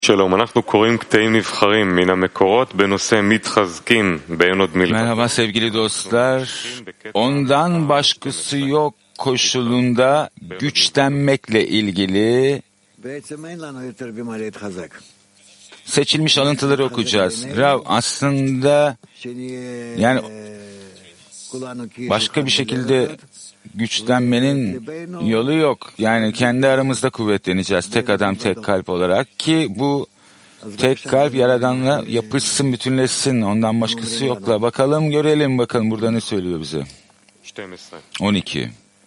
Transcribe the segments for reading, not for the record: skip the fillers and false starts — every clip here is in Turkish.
שלום, אנחנו קוראים קטעים נבחרים מן המקורות בנושא מתחזקים בעין עוד מלחמה. Merhaba sevgili dostlar. Ondan başkası yok koşulunda güçlenmekle ilgili seçilmiş alıntıları okuyacağız. Rav aslında yani başka bir şekilde güçlenmenin yolu yok. Yani kendi aramızda kuvvetleneceğiz tek adam tek kalp olarak ki bu tek kalp Yaradan'la yapışsın, bütünleşsin. Ondan başkası yokla. Bakalım görelim bakalım burada ne söylüyor bize. 12.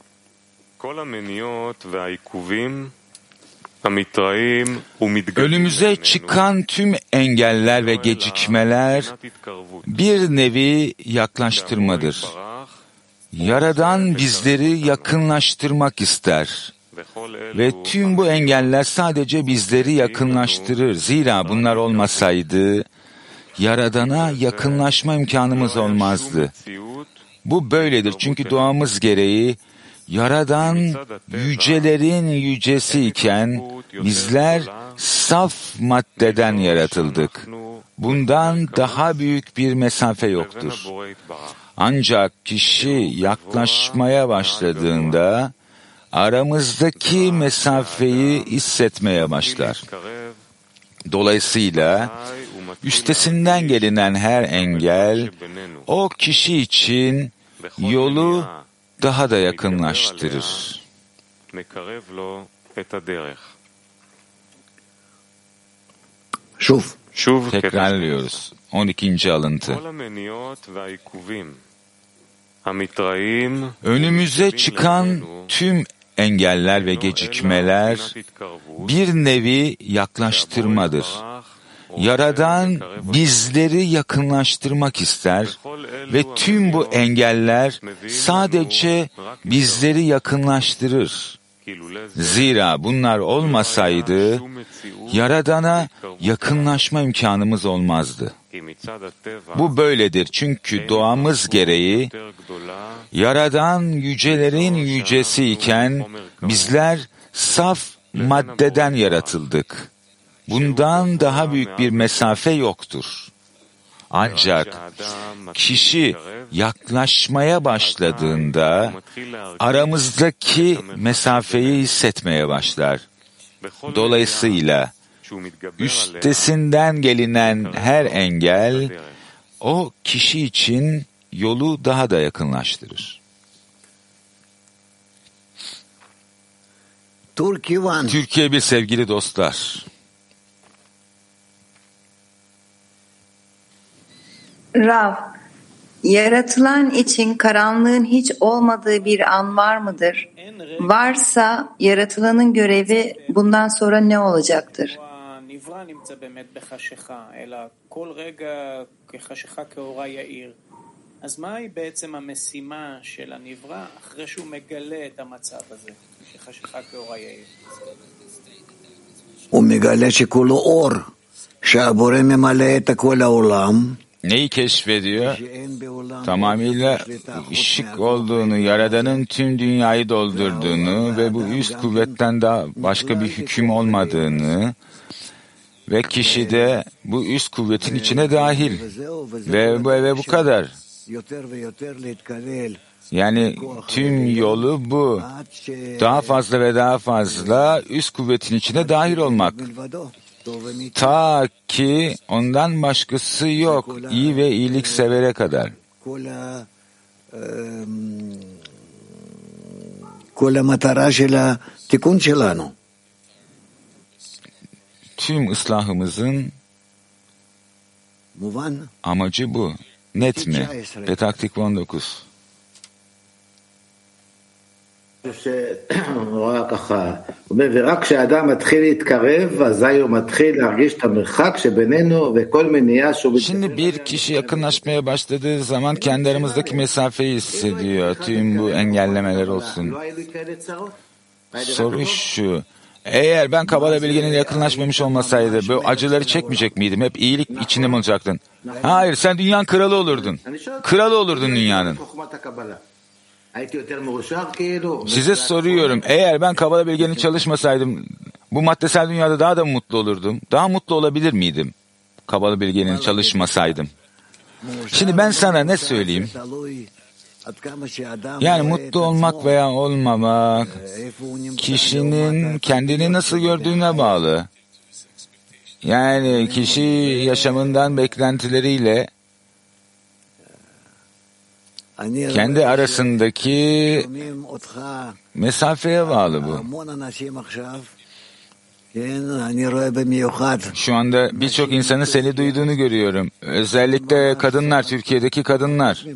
Önümüze çıkan tüm engeller ve gecikmeler bir nevi yaklaştırmadır. Yaradan bizleri yakınlaştırmak ister. Ve tüm bu engeller sadece bizleri yakınlaştırır. Zira bunlar olmasaydı Yaradan'a yakınlaşma imkanımız olmazdı. Bu böyledir çünkü doğamız gereği Yaradan yücelerin yücesi iken bizler saf maddeden yaratıldık. Bundan daha büyük bir mesafe yoktur. Ancak kişi yaklaşmaya başladığında aramızdaki mesafeyi hissetmeye başlar. Dolayısıyla üstesinden gelinen her engel o kişi için yolu daha da yakınlaştırır. Tekrarlıyoruz. 12. alıntı. Önümüze çıkan tüm engeller ve gecikmeler bir nevi yaklaştırmadır. Yaradan bizleri yakınlaştırmak ister ve tüm bu engeller sadece bizleri yakınlaştırır. Zira bunlar olmasaydı Yaradan'a yakınlaşma imkanımız olmazdı. Bu böyledir çünkü doğamız gereği Yaradan yücelerin yücesi iken bizler saf maddeden yaratıldık. Bundan daha büyük bir mesafe yoktur. Ancak kişi yaklaşmaya başladığında aramızdaki mesafeyi hissetmeye başlar. Dolayısıyla üstesinden gelinen her engel o kişi için yolu daha da yakınlaştırır. Türkiye bir sevgili dostlar. Rav, yaratılan için karanlığın hiç olmadığı bir an var mıdır? Varsa yaratılanın görevi bundan sonra ne olacaktır? אז מהי בעצם המשימה של הנברא אחרי שהוא מגלה את המצב הזה שחשיכה כאורה יאיר? הוא מגלה שכולו אור, שהבורא ממלא את כל העולם. Neyi keşfediyor? Tamamıyla ışık olduğunu, Yaradan'ın tüm dünyayı doldurduğunu ve bu üst kuvvetten daha başka bir hüküm olmadığını ve kişi de bu üst kuvvetin içine dahil ve bu kadar. Yani tüm yolu bu. Daha fazla ve daha fazla üst kuvvetin içine dahil olmak. Ta ki ondan başkası yok. İyi ve iyilik severe kadar. Tüm ıslahımızın amacı bu. Net mi? Petak Tikva 19. ורק כשאדם מתחיל להתקרב, אזי הוא מתחיל להרגיש את המרחק שבינינו וכל מניעה שהוא... Şimdi bir kişi yakınlaşmaya başladığı zaman kendi aramızdaki mesafeyi hissediyor. Tüm bu engellemeler olsun. Soru şu. Eğer ben Kabala bilgeninle yakınlaşmamış olmasaydı bu acıları çekmeyecek miydim? Hep iyilik içinde mi olacaktın? Hayır, sen dünyanın kralı olurdun. Kralı olurdun dünyanın. Size soruyorum, eğer ben Kabala bilgenin çalışmasaydım bu maddesel dünyada daha da mutlu olurdum. Daha mutlu olabilir miydim? Kabala bilgeliğini çalışmasaydım. Şimdi ben sana ne söyleyeyim? Yani mutlu olmak veya olmamak kişinin kendini nasıl gördüğüne bağlı. Yani kişi yaşamından beklentileriyle kendi arasındaki mesafeye bağlı bu. Şu anda birçok insanın seni duyduğunu görüyorum. Özellikle kadınlar, Türkiye'deki kadınlar.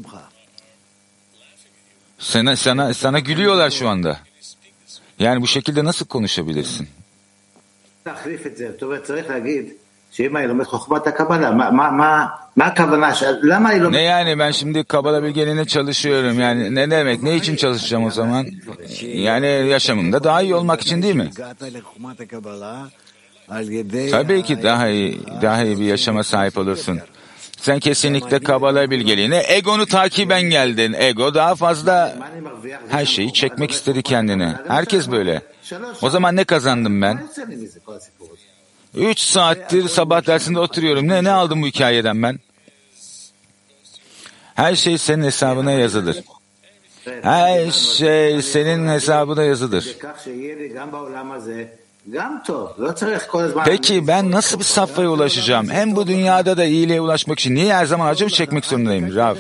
Sana gülüyorlar şu anda. Yani bu şekilde nasıl konuşabilirsin? Ne yani ben şimdi Kabala bilgeliğine çalışıyorum. Yani ne demek? Ne için çalışacağım o zaman? Yani yaşamımda daha iyi olmak için değil mi? Tabii ki daha iyi bir yaşama sahip olursun. Sen kesinlikle Kabala bilgeliğine egonu takiben geldin. Ego daha fazla her şeyi çekmek istedi kendine. Herkes böyle. O zaman ne kazandım ben? 3 saattir sabah dersinde oturuyorum. Ne aldım bu hikayeden ben? Her şey senin hesabına yazılır. Her şey senin hesabına yazılır. Peki ben nasıl bir safhaya ulaşacağım? Hem bu dünyada da iyiliğe ulaşmak için niye her zaman acı mı çekmek zorundayım Rav?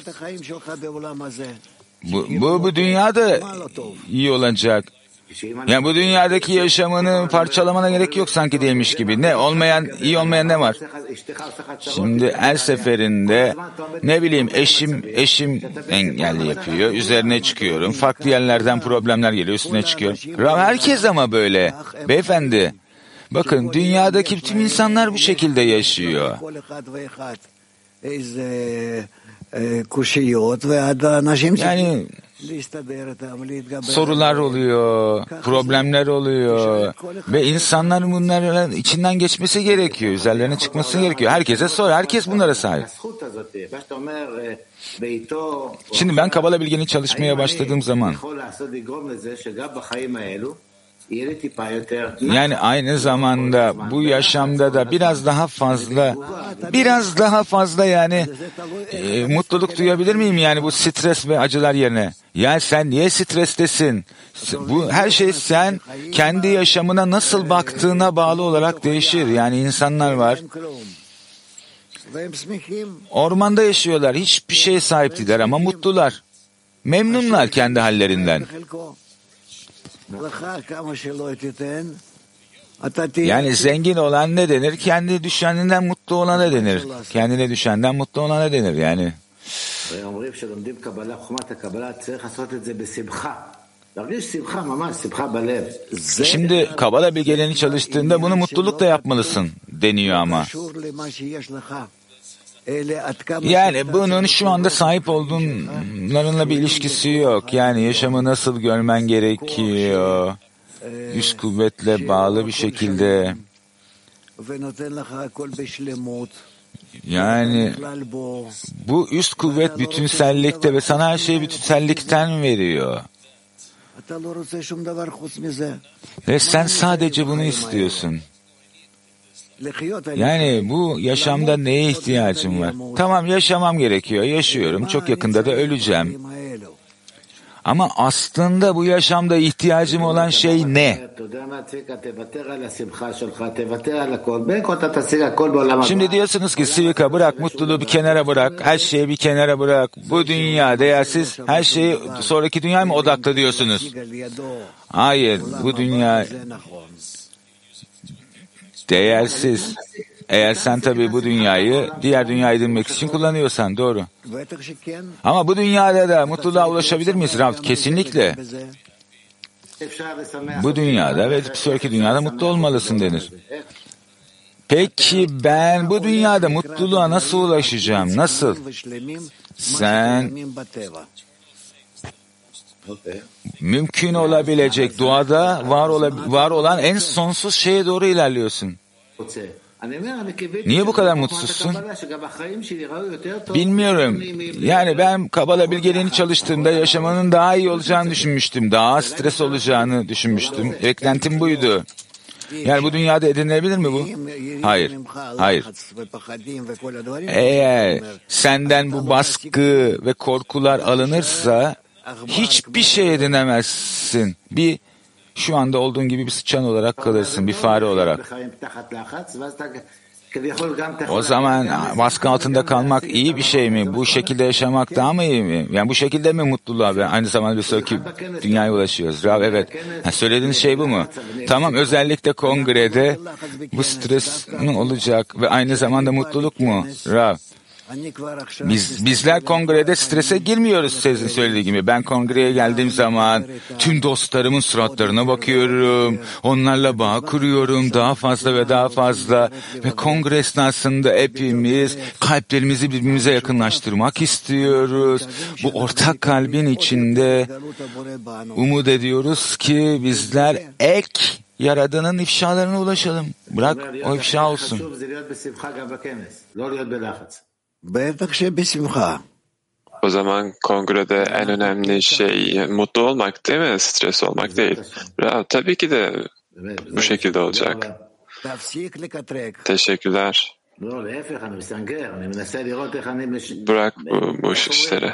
Bu dünyada iyi olacak. Yani bu dünyadaki yaşamını parçalamana gerek yok sanki değilmiş gibi. İyi olmayan ne var? Şimdi her seferinde ne bileyim eşim engelli yapıyor. Üzerine çıkıyorum. Farklı yerlerden problemler geliyor. Üstüne çıkıyorum. Herkes ama böyle. Beyefendi. Bakın dünyadaki tüm insanlar bu şekilde yaşıyor. Yani sorular oluyor, problemler oluyor ve insanların bunların içinden geçmesi gerekiyor, üzerlerine çıkması gerekiyor. Herkese sor, herkes bunlara sahip. Şimdi ben Kabala bilgini çalışmaya başladığım zaman yani aynı zamanda bu yaşamda da biraz daha fazla yani mutluluk duyabilir miyim yani bu stres ve acılar yerine? Yani sen niye strestesin? Bu her şey sen kendi yaşamına nasıl baktığına bağlı olarak değişir. Yani insanlar var. Ormanda yaşıyorlar. Hiçbir şeye sahip değiller ama mutlular. Memnunlar kendi hallerinden. Yani zengin olan ne denir? Kendi düşeninden mutlu olana denir. Kendine düşenden mutlu olana denir yani. Şimdi Kabala bilgeliğini çalıştığında bunu mutlulukla yapmalısın deniyor ama. Yani bunun şu anda sahip olduğunlarınla bir ilişkisi yok. Yani yaşamı nasıl görmen gerekiyor. Üst kuvvetle bağlı bir şekilde. Yani bu üst kuvvet bütünsellikte ve sana her şeyi bütünsellikten veriyor. Ve sen sadece bunu istiyorsun. Yani bu yaşamda neye ihtiyacım var? Tamam yaşamam gerekiyor, yaşıyorum. Çok yakında da öleceğim. Ama aslında bu yaşamda ihtiyacım olan şey ne? Şimdi diyorsunuz ki Sivika bırak, mutluluğu bir kenara bırak, her şeyi bir kenara bırak. Bu dünya değersiz, her şeyi sonraki dünyaya mı odaklı diyorsunuz? Hayır, bu dünya değersiz. Eğer sen tabii bu dünyayı diğer dünya edinmek için kullanıyorsan doğru. Ama bu dünyada da mutluluğa ulaşabilir miyiz Rav? Kesinlikle. Bu dünyada ve bir sonraki dünyada mutlu olmalısın denir. Peki ben bu dünyada mutluluğa nasıl ulaşacağım? Nasıl? Sen mümkün olabilecek doğada var olan en sonsuz şeye doğru ilerliyorsun. Niye bu kadar mutsuzsun? Bilmiyorum. Yani ben Kabala bilgeliğini çalıştığımda yaşamanın daha iyi olacağını düşünmüştüm. Daha stres olacağını düşünmüştüm. Beklentim buydu. Yani bu dünyada edinilebilir mi bu? Hayır. Hayır. Eğer senden bu baskı ve korkular alınırsa hiçbir şey edinemezsin. Şu anda olduğun gibi bir sıçan olarak kalırsın, bir fare olarak. O zaman baskı altında kalmak iyi bir şey mi? Bu şekilde yaşamak daha mı iyi mi? Yani bu şekilde mi mutluluğa ve aynı zamanda bir sonraki dünyaya ulaşıyoruz? Rav, evet. Söylediğiniz şey bu mu? Tamam, özellikle kongrede bu stres olacak ve aynı zamanda mutluluk mu? Rav, bizler kongrede strese girmiyoruz sizin söylediği gibi. Ben kongreye geldiğim zaman tüm dostlarımın suratlarına bakıyorum. Onlarla bağ kuruyorum daha fazla ve daha fazla. Ve kongre esnasında hepimiz kalplerimizi birbirimize yakınlaştırmak istiyoruz. Bu ortak kalbin içinde umut ediyoruz ki bizler Yaradan'ın ifşalarına ulaşalım. Bırak o ifşa olsun. O zaman kongrede en önemli şey mutlu olmak değil mi? Stres olmak değil. Tabii ki de bu şekilde olacak. Teşekkürler. Bırak bu işleri.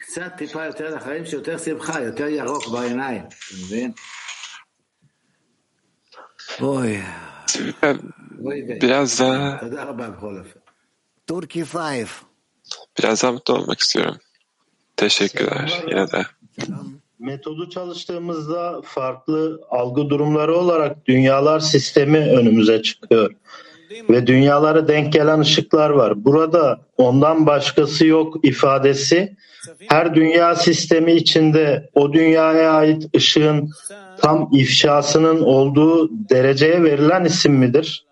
Biraz daha mutlu olmak istiyorum. Teşekkürler yine de. Metodu çalıştığımızda farklı algı durumları olarak dünyalar sistemi önümüze çıkıyor. Ve dünyalara denk gelen ışıklar var. Burada ondan başkası yok ifadesi her dünya sistemi içinde o dünyaya ait ışığın tam ifşasının olduğu dereceye verilen isim midir?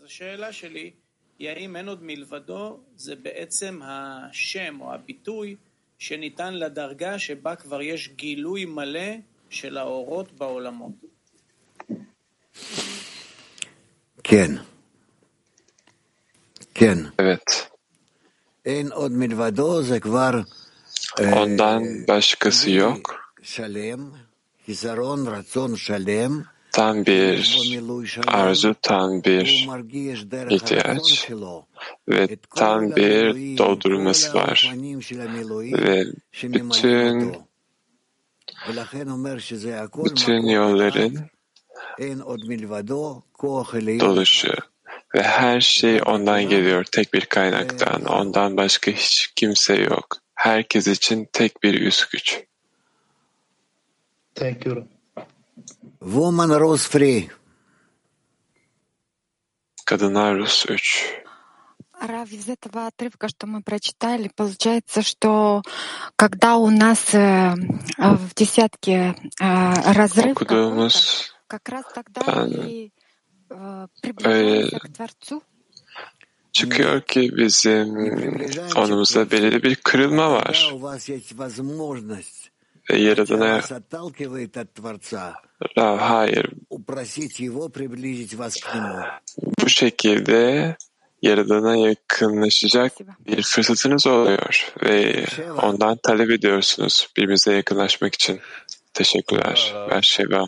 שניתן לדרגה שבה כבר יש גילוי מלא של האורות בעולמות. כן. כן. Evet. אין עוד מלבדו, זה כבר Ondan başkası yok. שלם, חיסרון, רצון שלם. Tam bir arzu, tam bir ihtiyaç ve tam bir doldurulması var ve bütün yolların doluşu ve her şey ondan geliyor, tek bir kaynaktan, ondan başka hiç kimse yok. Herkes için tek bir üst güç. Thank you. Woman Rose Free. Kadınlar Rus 3. Рав, из этого отрывка, что мы прочитали, получается, что когда у нас в десятке разрыв как раз тогда и приближаемся к Творцу. Çıkıyor ki bizim onumuzda belirli bir kırılma var. Ve Yaradan'a hayır, bu şekilde Yaradan'a yakınlaşacak bir fırsatınız oluyor ve ondan talep ediyorsunuz birbirinize yakınlaşmak için. Teşekkürler. Ben Şeva.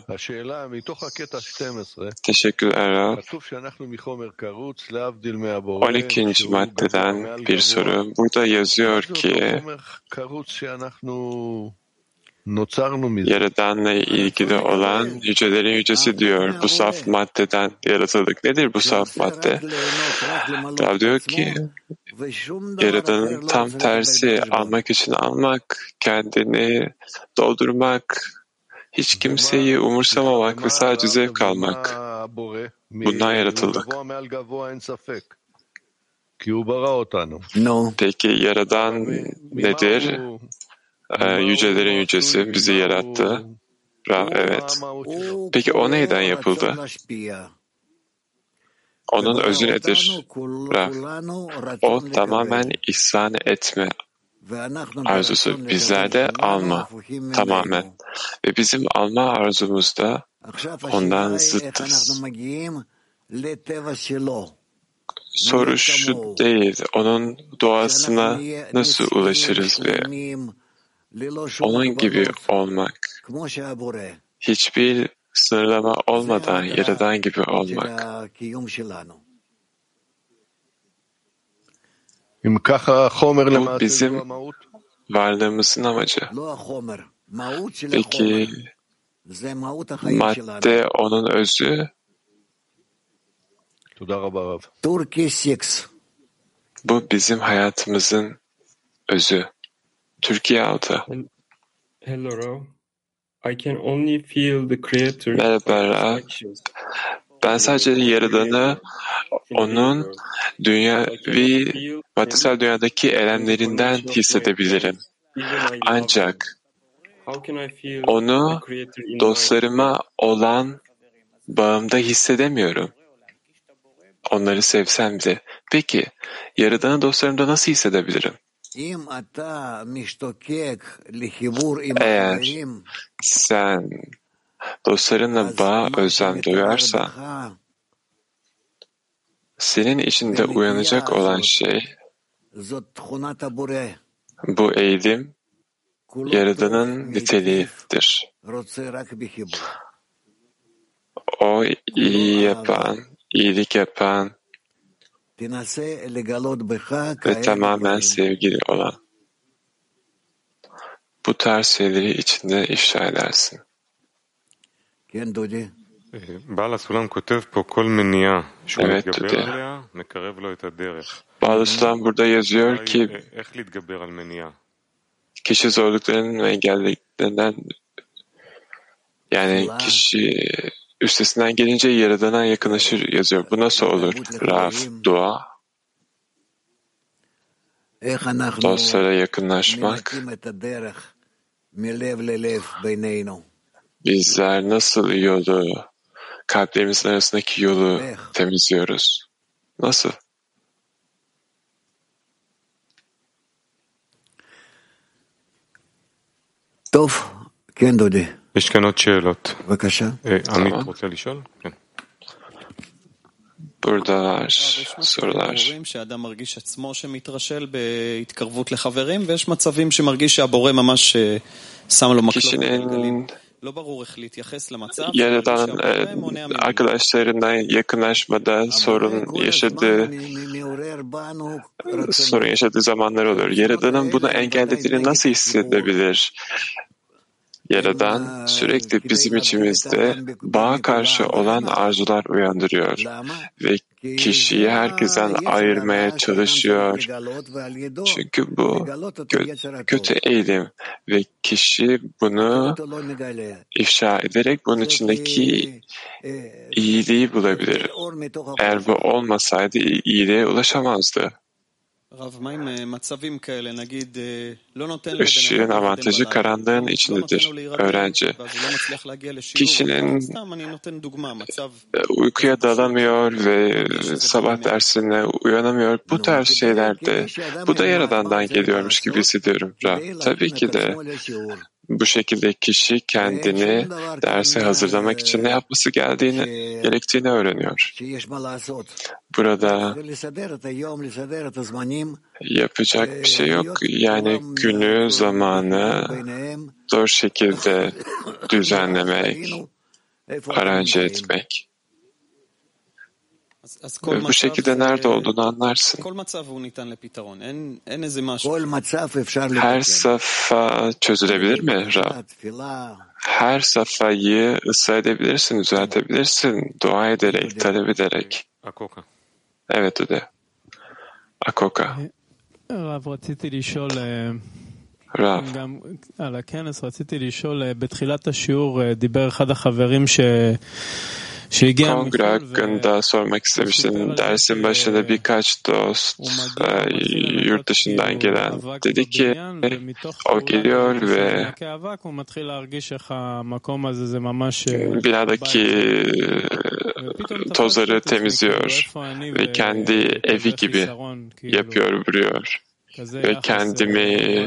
Teşekkürler Rav. 12. maddeden bir soru. Burada yazıyor ki Yaradan'la ilgili olan yücelerin yücesi diyor. Bu saf maddeden yaratıldık. Nedir bu saf madde? Rav diyor ki Yaradan'ın tam tersi, almak için almak, kendini doldurmak, hiç kimseyi umursamamak ve sadece zevk almak. Bundan yaratıldık. Peki Yaradan nedir? Yücelerin yücesi bizi yarattı. Evet. Peki o neyden yapıldı? Onun özü nedir? O tamamen ihsan etme arzusu. Bizlerde alma. Tamamen. Ve bizim alma arzumuzda ondan zıttız. Soru şu değil, onun doğasına nasıl ulaşırız ve onun gibi olmak, hiçbir sınırlama olmadan Yaradan gibi olmak. Bu bizim varlığımızın amacı. Peki madde onun özü. Bu bizim hayatımızın özü. Türkiye 6. Merhaba Rav. Ben sadece Yaradan'ı onun dünyavi maddesel dünyadaki eylemlerinden hissedebilirim. Ancak onu dostlarıma olan bağımda hissedemiyorum. Onları sevsem de. Peki, Yaradan'ı dostlarımda nasıl hissedebilirim? Eğer sen dostlarınla bağa özlem duyarsan, senin içinde uyanacak olan şey, bu eğilim, Yaradan'ın niteliğidir. O iyi yapan, iyilik yapan ve tamamen sevgili olan. Bu tarz şeyleri içinde ifşa edersin. Evet Dudi. Bala Sulam burada yazıyor ki kişi zorluklarının ve engellerinden, yani kişi üstesinden gelince Yaradan'a yakınlaşır yazıyor. Bu nasıl olur? Rav, dua, dostlara yakınlaşmak. Bizler nasıl yolu, kalplerimizin arasındaki yolu temizliyoruz? Nasıl? טוב, כן דודי. יש כאן עוד שאלות. בבקשה. עמית רוצה לשאול? כן. Buradalar sorular. שאדם מרגיש עצמו שמתרשל בהתקרבות לחברים, ויש מצבים שמרגיש שהבורא ממש שם לו מקלות בגלגלים. לא ברור איך להתייחס למצב. Yaradan arkadaşlarından yakınlaşmada sorun yaşadığı zamanlar olur. Yaradan'ın bunu engellediğini nasıl hissedebilir? Yaradan sürekli bizim içimizde bağa karşı olan arzular uyandırıyor ve kişiyi herkesten ayırmaya çalışıyor. Çünkü bu kötü eğilim ve kişi bunu ifşa ederek bunun içindeki iyiliği bulabilir. Eğer bu olmasaydı iyiliğe ulaşamazdı. Işığın avantajı karanlığın içindedir. Öğrenci. Kişinin uykuya dalamıyor ve sabah dersine uyanamıyor. Bu tarz şeylerde bu da Yaradan'dan geliyormuş gibi hissediyorum. Tabii ki de bu şekilde kişi kendini derse hazırlamak için ne yapması gerektiğini öğreniyor. Burada yapacak bir şey yok. Yani günü, zamanı doğru şekilde düzenlemek, aranje etmek. Ve bu şekilde nerede olduğunu anlarsın. Her safa çözülebilir mi Rab? Her safayı ıslah edebilirsin, düzeltebilirsin, dua ederek, talep ederek. Evet Ude. Akoka. Rav. על הכנס רציתי לשאול, בתחילת השיעור דיבר אחד החברים Kongre hakkında sormak istemiştim. Dersin başında birkaç dost yurt dışından gelen dedi ki o geliyor ve binadaki tozları temizliyor ve kendi evi gibi yapıyor, vuruyor ve kendimi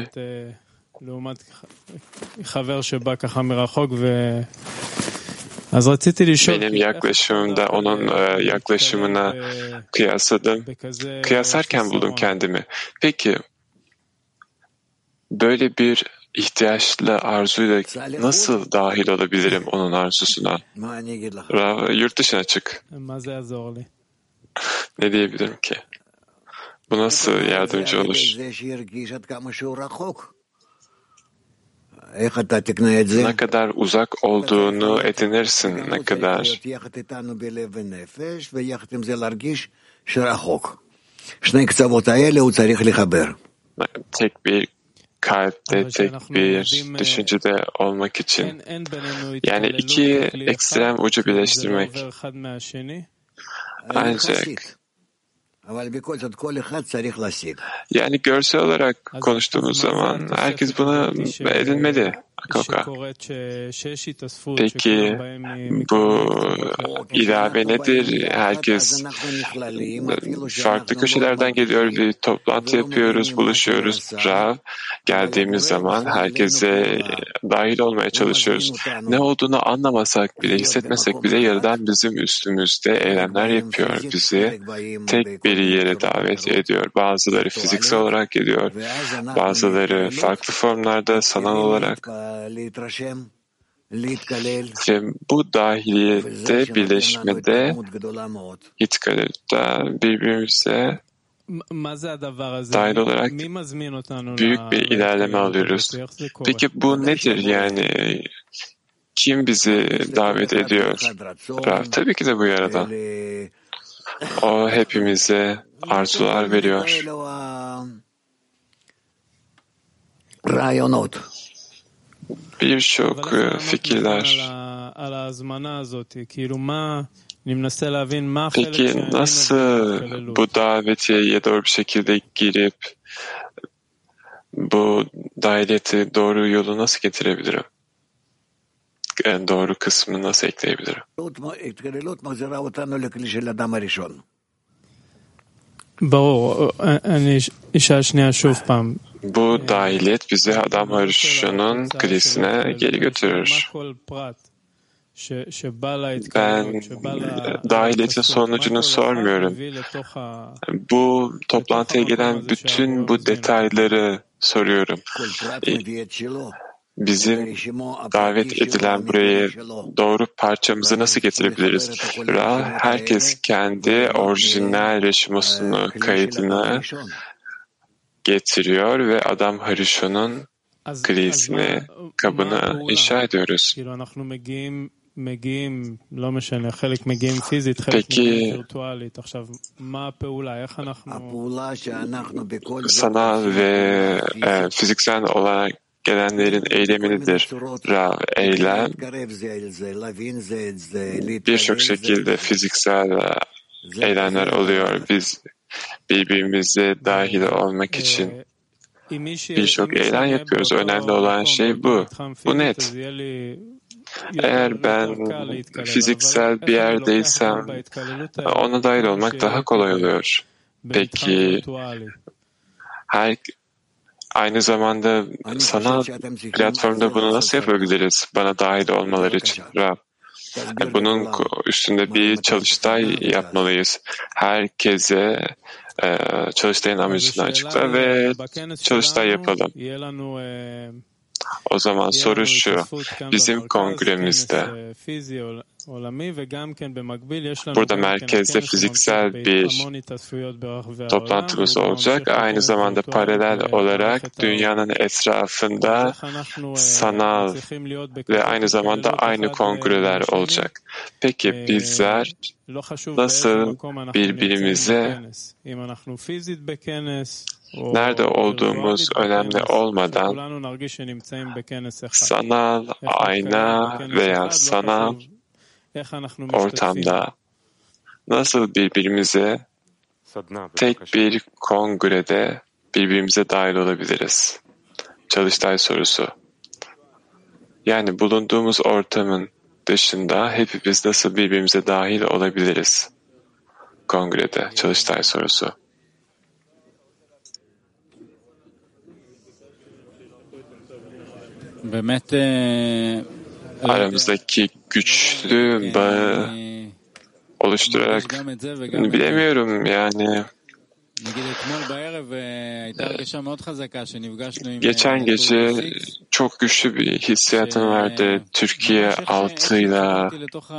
benim yaklaşımımda onun yaklaşımına kıyasladım. Kıyaslarken buldum kendimi. Peki böyle bir ihtiyaçlı arzuyla nasıl dahil olabilirim onun arzusuna? Yurt dışına çık. Ne diyebilirim ki? Bu nasıl yardımcı olur? Ne kadar uzak olduğunu edinirsin, ne kadar tek bir kalpte, tek bir düşüncede olmak için. Yani iki ekstrem ucu birleştirmek. Ancak yani görsel olarak konuştuğumuz zaman herkes bunu edinmeli. Peki bu ilave nedir? Herkes farklı köşelerden geliyor, bir toplantı yapıyoruz, buluşuyoruz. Rav geldiğimiz zaman herkese dahil olmaya çalışıyoruz. Ne olduğunu anlamasak bile, hissetmesek bile Yaradan bizim üstümüzde eylemler yapıyor. Bizi tek bir yere davet ediyor. Bazıları fiziksel olarak geliyor, bazıları farklı formlarda, sanal olarak. Ve bu dahiliyette, birleşmede, itkalette birbirimize dahil olarak büyük bir ilerleme alıyoruz. Peki bu nedir yani? Kim bizi davet ediyor? Tabii ki de bu Yaradan. O hepimize arzular veriyor. Birçok fikirler. Peki nasıl bu davetiye doğru bir şekilde girip bu dahiliyeti doğru yolu nasıl getirebilirim? En doğru kısmını nasıl ekleyebilirim? Bu dahiliyet bizi Adam Harishon'un krizine geri götürür. Ben dahiliyetin sonucunu sormuyorum. Bu toplantıya gelen bütün bu detayları soruyorum. Bizim davet edilen buraya doğru parçamızı nasıl getirebiliriz? Herkes kendi orijinal reşimosunu, kaydını getiriyor ve Adam Harishon'un krizini, kabını inşa ediyoruz. Peki sanal ve fiziksel olarak gelenlerin eylemi nedir? Eylem birçok şekilde fiziksel eylemler oluyor. Biz birbirimize dahil olmak için birçok eylem yapıyoruz. Önemli olan şey bu. Bu net. Eğer ben fiziksel bir yerdeysem ona dahil olmak daha kolay oluyor. Peki aynı zamanda sanal platformda bunu nasıl yapabiliriz? Bana dahil olmaları için. Bunun üstünde bir çalıştay yapmalıyız. Herkese çalıştayın amacını açıkla ve çalıştay yapalım. O zaman soru şu, bizim kongremizde burada merkezde fiziksel bir toplantımız olacak. Aynı zamanda paralel olarak dünyanın etrafında sanal ve aynı zamanda aynı kongreler olacak. Peki bizler nasıl birbirimize nerede olduğumuz önemli olmadan sanal ayna veya sanal ortamda nasıl birbirimize tek bir kongrede birbirimize dahil olabiliriz? Çalıştay sorusu. Yani bulunduğumuz ortamın dışında hepimiz nasıl birbirimize dahil olabiliriz? Kongrede çalıştay sorusu. Aramızdaki güçlü bağı oluşturarak bilemiyorum yani Geçen gece çok güçlü bir hissiyatım vardı. Türkiye 6'yla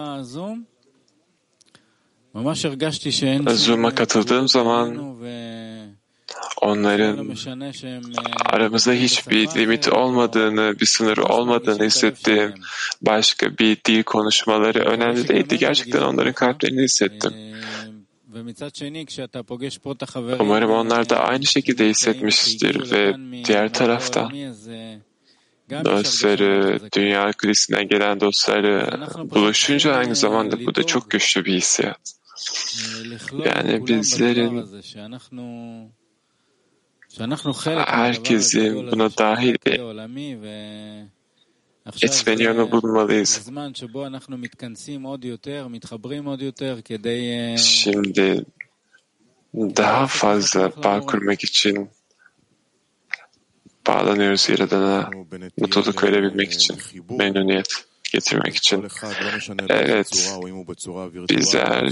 Zoom'a katıldığım zaman onların aramızda hiçbir limit olmadığını, bir sınır olmadığını hissettim. Başka bir dil konuşmaları önemli değildi. Gerçekten onların kalplerini hissettim. Umarım onlar da aynı şekilde hissetmiştir ve diğer taraftan dostları, dünya kulisinden gelen dostları buluşunca aynı zamanda bu da çok güçlü bir hissiyat. Yani bizlerin herkesin buna dahil etmeni yolu bulmalıyız. Şimdi daha fazla bağ kurmak için bağlanıyoruz Yaradan'a, mutluluk verebilmek için, memnuniyet getirmek için. Evet, bizler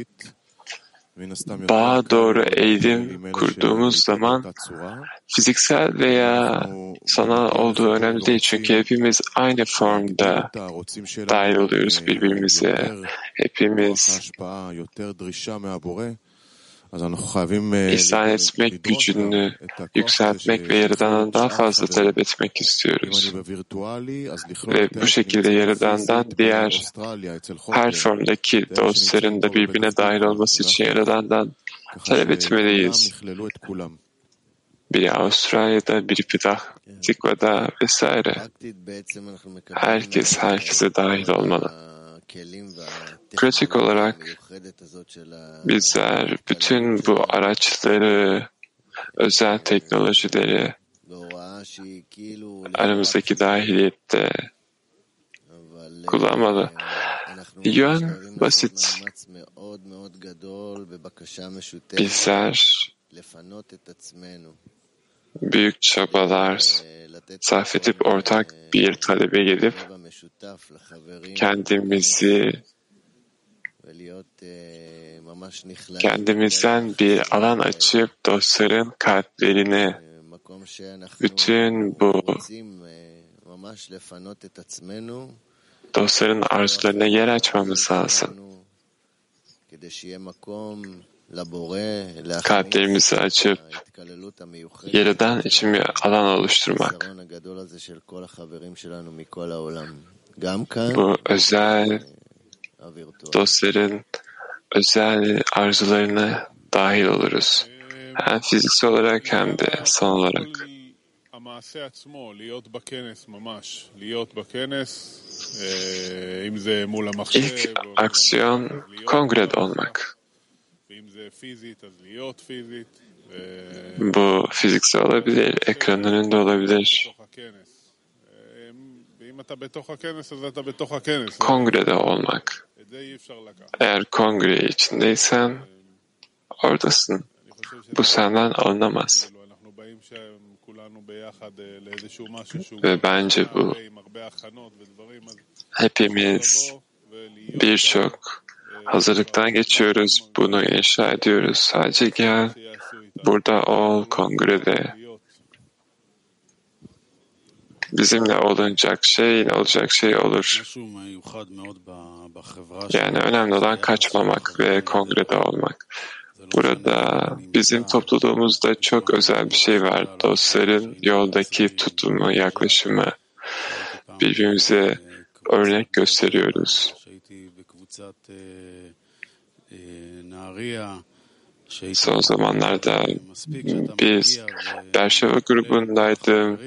bağa doğru eğilim kurduğumuz zaman fiziksel veya sanal olduğu önemli değil. Çünkü hepimiz aynı formda dahil oluyoruz birbirimize. Hepimiz İhsan etmek gücünü yükseltmek ve Yaradan'dan daha fazla talep etmek istiyoruz. Ve bu şekilde Yaradan'dan diğer her formdaki dostların da birbirine dahil olması için Yaradan'dan talep etmeliyiz. Biri Avustralya'da, biri Tikva'da vesaire. Herkes herkese dahil olmalı. Pratik olarak bizler bütün bu araçları, özel teknolojileri aramızdaki dahiliyette kullanmalı. Yön basit. Bizler büyük çabalar sarf edip ortak bir talebe gelip kendimizden bir alan açıp dostların kalplerini, bütün bu dostların arzularına yer açmamız lazım. Kalplerimizi açıp Yaradan için bir alan oluşturmak. Bu özel dostların özel arzularına dahil oluruz. Hem fiziksel olarak hem de sanal olarak. İlk aksiyon kongrede olmak. Bu fiziksel olabilir, ekranın önünde olabilir. Kongrede olmak. Eğer kongre içindeysen oradasın. Bu senden alınamaz. Ve bence bu hepimiz birçok hazırlıktan geçiyoruz. Bunu inşa ediyoruz. Sadece gel, burada ol, kongrede. Bizimle olacak şey olur. Yani önemli olan kaçmamak ve kongrede olmak. Burada bizim topluluğumuzda çok özel bir şey var. Dostların yoldaki tutumu, yaklaşımı. Birbirimize örnek gösteriyoruz. Son zamanlarda biz Berşeva grubundaydım.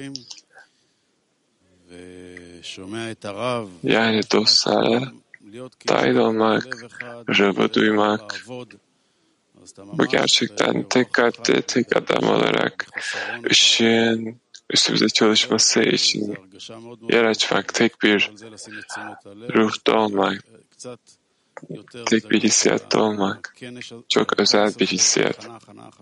Yani dostlara dahil olmak, Rab'ı duymak, bu gerçekten tek kalpte, tek adam olarak ışığın üstümüze çalışması için yer açmak, tek bir ruhta olmak, tek bir hissiyatta olmak, çok özel bir hissiyat.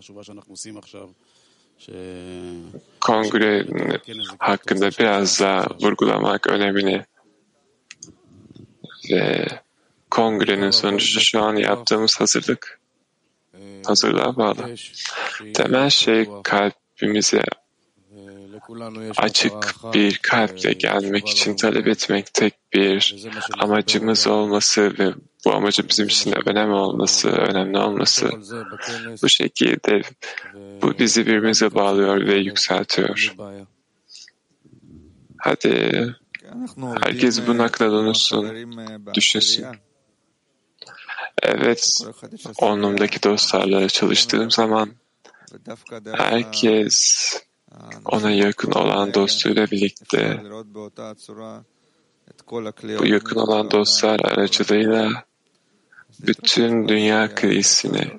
Kongre hakkında biraz daha vurgulamak önemli ve kongrenin sonucu şu an yaptığımız hazırlık. hazırlığa bağlı. Temel şey kalbimize açık bir kalple gelmek için talep etmek, tek bir amacımız olması ve bu amacın bizim için de önemli olması. Bu şekilde bu bizi birbirimize bağlıyor ve yükseltiyor. Hadi herkes bu nakla dönüşsün, düşünsün. Evet, onlumdaki dostlarla çalıştığım zaman herkes ona yakın olan dostuyla birlikte bu yakın olan dostlar aracılığıyla bütün dünya krizini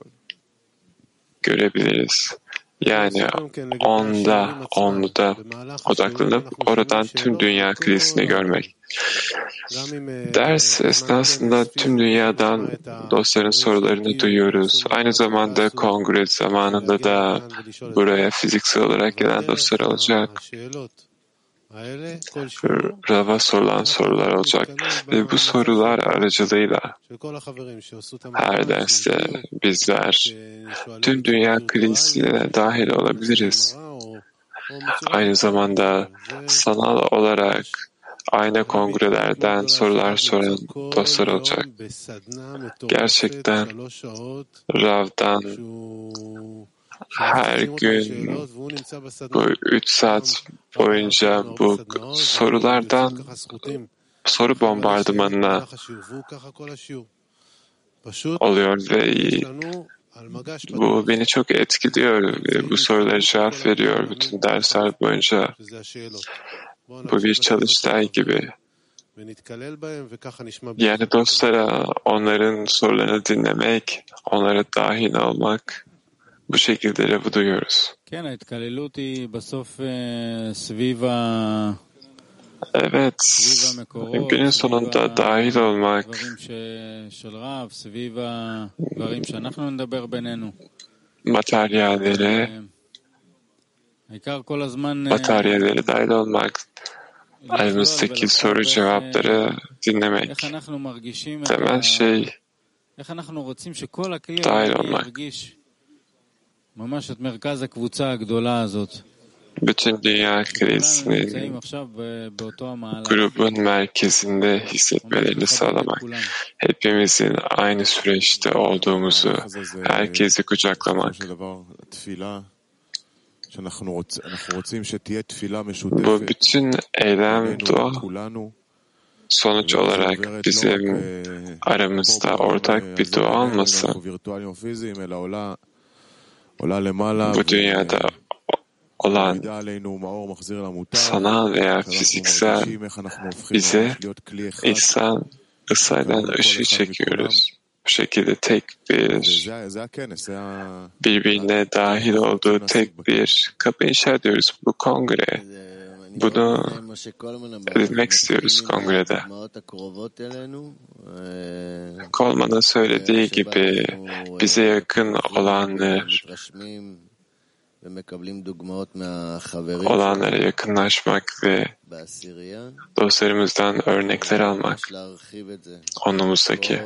görebiliriz. Yani onluda odaklanıp oradan tüm dünya krizini görmek. Ders esnasında tüm dünyadan dostların sorularını duyuyoruz. Aynı zamanda kongre zamanında da buraya fiziksel olarak gelen dostlar olacak. Rav'a sorulan sorular olacak ve bu sorular aracılığıyla her derste bizler tüm dünya krizine dahil olabiliriz. Aynı zamanda sanal olarak aynı kongrelerden sorular soran dostlar olacak. Gerçekten Rav'dan her gün bu 3 saat boyunca bu sorulardan soru bombardımanına oluyor ve bu beni çok etkiliyor. Bu sorulara cevap veriyor bütün dersler boyunca. Bu bir çalıştay gibi. Yani dostlara onların sorularını dinlemek, onlara dahil olmak, bu şekilde Rav'ı duyuyoruz. Evet, günün sonunda dahil olmak, materyallere dahil olmak, aramızdaki soru cevapları dinlemek. Temel şey dahil olmak. Bütün dünya krizinin grubun merkezinde hissetmelerini sağlamak. Hepimizin aynı süreçte olduğumuzu, herkesi kucaklamak. Bu bütün eylem, dua, sonuç olarak bizim aramızda ortak bir dua olması, bu dünyada olan sanal veya fiziksel bize İsa'dan ışığı çekiyoruz. Bu şekilde tek bir birbirine dahil olduğu tek bir kapı inşa ediyoruz. Bu kongre. Bunu edinmek istiyoruz kongrede. Coleman'ın söylediği gibi bize yakın olanlara yakınlaşmak ve dostlarımızdan örnekler almak, onumuzdaki.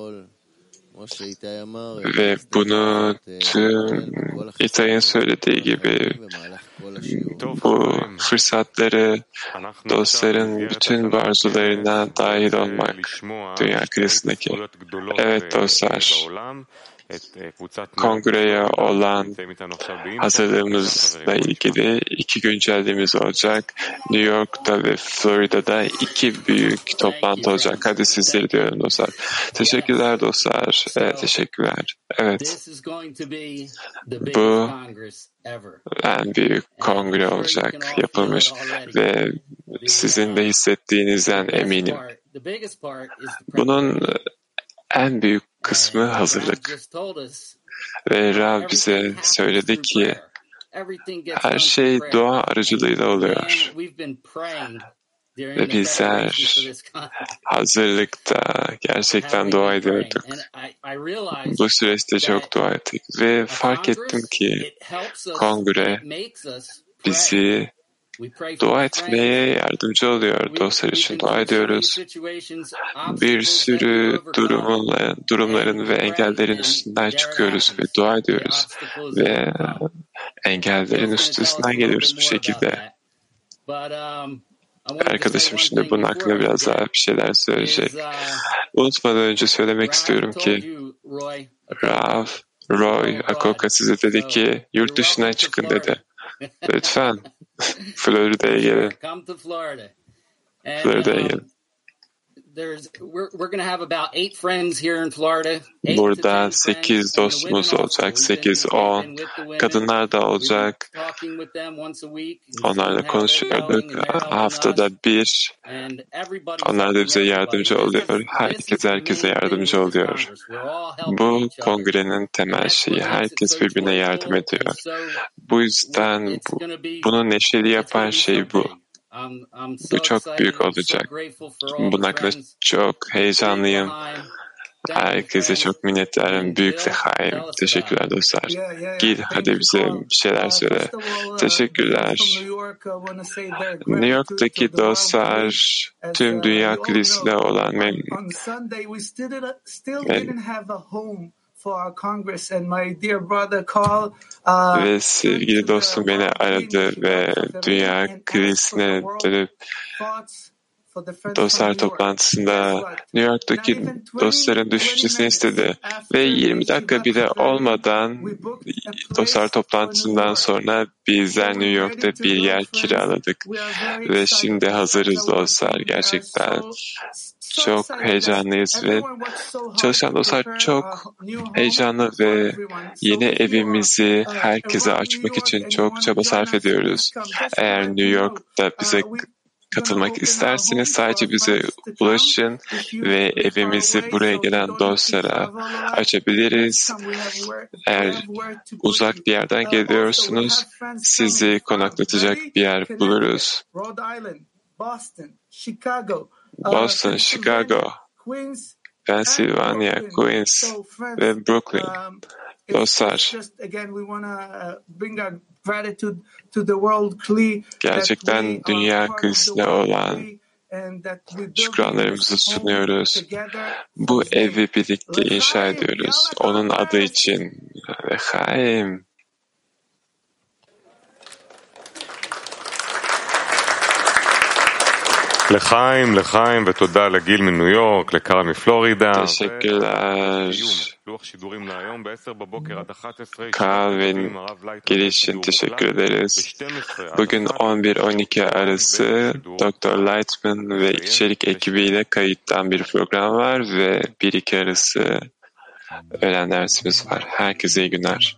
Ve bunu tüm İtay'ın söylediği gibi bu fırsatları dostların bütün arzularına dahil olmak dünya krizindeki. Evet dostlar, kongreye olan hazırlığımızla ilgili 2 güncelliğimiz olacak. New York'ta ve Florida'da 2 büyük toplantı olacak. Hadi sizleri diyorum dostlar. Teşekkürler dostlar. Teşekkürler. Evet. Bu en büyük kongre olacak yapılmış ve sizin de hissettiğinizden eminim. Bunun en büyük kısmı hazırlık. Ve Rav bize söyledi ki her şey dua aracılığıyla oluyor. Ve bizler hazırlıkta gerçekten dua ediyorduk. Bu süreçte çok dua ettik. Ve fark ettim ki kongre bizi dua etmeye yardımcı oluyor. Dostlar için dua ediyoruz. Bir sürü durumların ve engellerin üstünden çıkıyoruz ve dua ediyoruz. Ve engellerin üstesinden geliyoruz bu şekilde. Arkadaşım şimdi bunun hakkında biraz daha bir şeyler söyleyecek. Unutmadan önce söylemek istiyorum ki Rav Roy Akoka size dedi ki yurt dışına çıkın dedi. Lütfen Florida'ya gelin. Florida'ya gelin. Burada 8 dostumuz olacak, 8-10 kadınlar da olacak. Onlarla konuşuyorduk. Haftada bir. Onlar da bize yardımcı oluyor. Herkese yardımcı oluyor. Bu kongrenin temel şeyi. Herkes birbirine yardım ediyor. Bu yüzden bunu neşeli yapan şey bu. Bu çok büyük olacak. Bunun hakkında çok heyecanlıyım. Herkese çok minnettarım. Büyük lehaim. Teşekkürler dostlar. Gil hadi bize bir şeyler söyle. Teşekkürler. New York'taki dostlar tüm dünya kilisiyle olan memnun. Ve sevgili dostum beni aradı ve dünya krizine dönüp dostlar toplantısında New York'taki dostların düşüncesini istedi. Ve 20 dakika bile olmadan dostlar toplantısından sonra bizler New York'ta bir yer kiraladık. Ve şimdi hazırız dostlar. Gerçekten çok heyecanlıyız ve çalışan dostlar çok heyecanlı ve yeni evimizi herkese açmak için çok çaba sarf ediyoruz. Eğer New York'ta bize katılmak isterseniz sadece bize ulaşın ve evimizi buraya gelen dostlara açabiliriz. Eğer uzak bir yerden geliyorsunuz, sizi konaklatacak bir yer buluruz. Boston, Chicago, Pennsylvania, Queens ve Brooklyn. Dostlar, gerçekten dünya krizine olan şükranlarımızı sunuyoruz. Bu evi birlikte inşa ediyoruz. Onun adı için. Lechaim. לחיים, לחיים, ותודה לגיל מניו יורק, לקרא מפלורידה. Teşekkürler. Karl ve Gil için teşekkür ederiz. Bugün 11-12 arası Dr. Lightman ve içerik ekibiyle kayıttan bir program var ve 1-2 arası öğlen dersimiz var. Herkese iyi günler.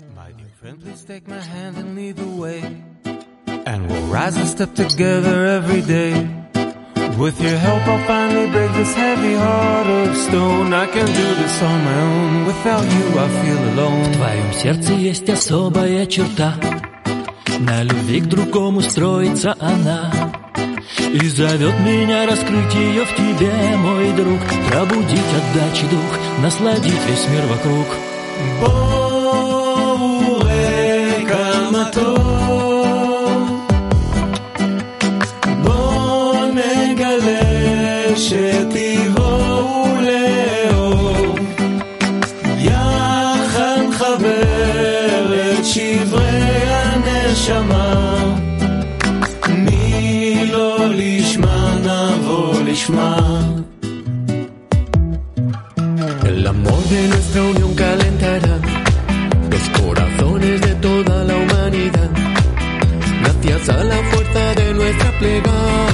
And we'll rise and step together every day. With your help I'll finally break this heavy heart of stone. I can do this on my own. Without you I feel alone. В твоем сердце есть особая черта. На любви к другому строится она. И зовет меня раскрыть ее в тебе, мой друг. Пробудить отдачи дух, насладить весь мир вокруг. Боуэ камато. שתבואו לאור יחד חבר את שברי הנשמה מי לא לשמה נבוא לשמה El amor de nuestra unión calentará los corazones de toda la humanidad gracias a la fuerza de nuestra plegaria